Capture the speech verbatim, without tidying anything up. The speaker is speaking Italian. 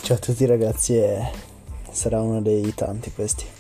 Ciao a tutti ragazzi, e sarà uno dei tanti questi.